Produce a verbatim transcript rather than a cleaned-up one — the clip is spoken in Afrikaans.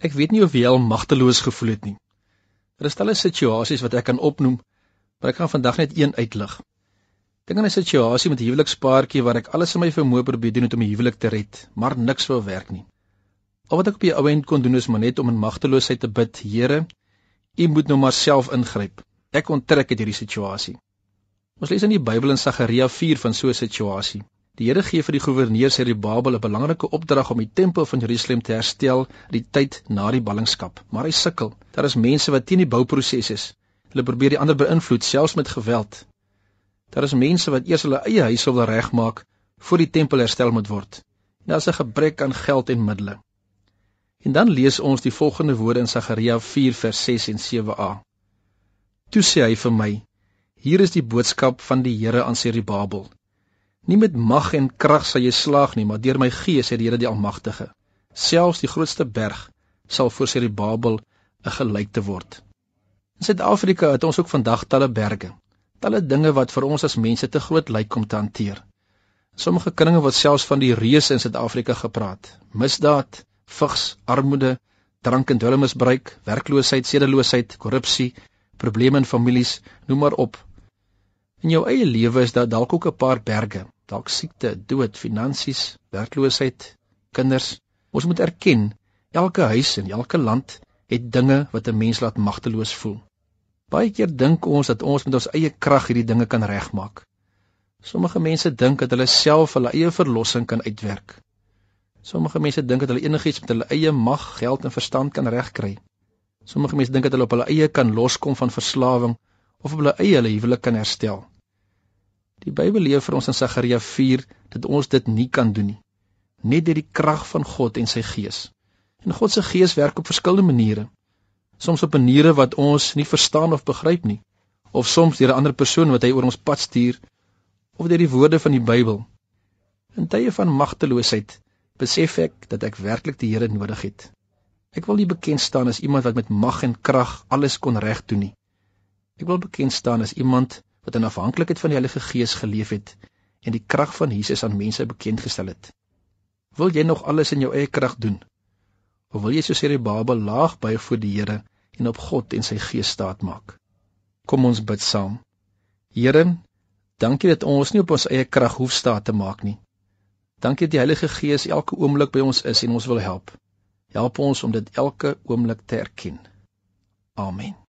Ek weet nie of jy al magteloos gevoel het nie. Er is talle situasies wat ek kan opnoem, maar ek gaan vandag net een uitlig. Dink aan 'n situasie met 'n huwelikspaartjie waar ek alles in my vermoë probeer doen om die huwelik te red, maar niks wou werk nie. Al wat ek op die ou end kon doen is maar net om in magteloosheid te bid, Here, U moet nou maar self ingryp. Ek onttrek uit hierdie situasie. Ons lees in die Bybel in Sagaria vier van so 'n situasie. Die Here gee vir die goewerneur Serubabel 'n belangrike opdrag om die tempel van Jerusalem te herstel die tyd na die ballingskap, maar hy sukkel. Daar is mense wat teen die bouproses is. Hulle probeer die ander beïnvloed, selfs met geweld. Daar is mense wat eers hulle eie huise wil regmaak voor die tempel herstel moet word. En daar is 'n gebrek aan geld en middele. En dan lees ons die volgende woorde in Sagaria vier vers ses en sewe a. Toe sê hy vir my, hier is die boodskap van die Here aan Serubabel. Nie met mag en krag sal jy slaag nie, maar deur my gees, sê die Here die Almagtige. Selfs die grootste berg sal voor Serubabel 'n gelykte word. In Suid-Afrika het ons ook vandag talle berge, talle dinge wat vir ons as mense te groot lyk om te hanteer. Sommige kringe word selfs van die reuse in Suid-Afrika gepraat. Misdaad, vigs, armoede, drank en dwelmmisbruik, werkloosheid, sedeloosheid, korrupsie, probleme in families, noem maar op. In jou eie lewe is daar dalk ook 'n paar berge, dalk siekte, dood, finansies, werkloosheid, kinders. Ons moet erken, elke huis en elke land het dinge wat 'n mens laat magteloos voel. Baie keer dink ons dat ons met ons eie krag hierdie dinge kan regmaak. Sommige mense dink dat hulle self hulle eie verlossing kan uitwerk. Sommige mense dink dat hulle enigiets met hulle eie mag, geld en verstand kan regkry. Sommige mense dink dat hulle op hulle eie kan loskom van verslawing of op hulle eie hulle huwelik kan herstel. Die Bybel leer vir ons in Sagaria vier dat ons dit nie kan doen nie, net deur die krag van God en sy Gees. En God se Gees werk op verskillende maniere. Soms op maniere wat ons nie verstaan of begryp nie, of soms deur 'n ander persoon wat hy oor ons pad stuur, of deur die woorde van die Bybel. In tye van magteloosheid besef ek dat ek werklik die Here nodig het. Ek wil nie bekend staan as iemand wat met mag en krag alles kon reg doen nie. Ek wil bekend staan as iemand wat in afhanklikheid van die Heilige Gees geleef het en die krag van Jesus aan mense bekend gestel het. Wil jy nog alles in jou eie krag doen? Of wil jy soos Serubabel laag buig voor die Here en op God en sy Gees staat maak? Kom ons bid saam. Here, dankie dat ons nie op ons eie krag hoef staat te maak nie. Dankie dat die Heilige Gees elke oomblik by ons is en ons wil help. Help ons om dit elke oomblik te erken. Amen.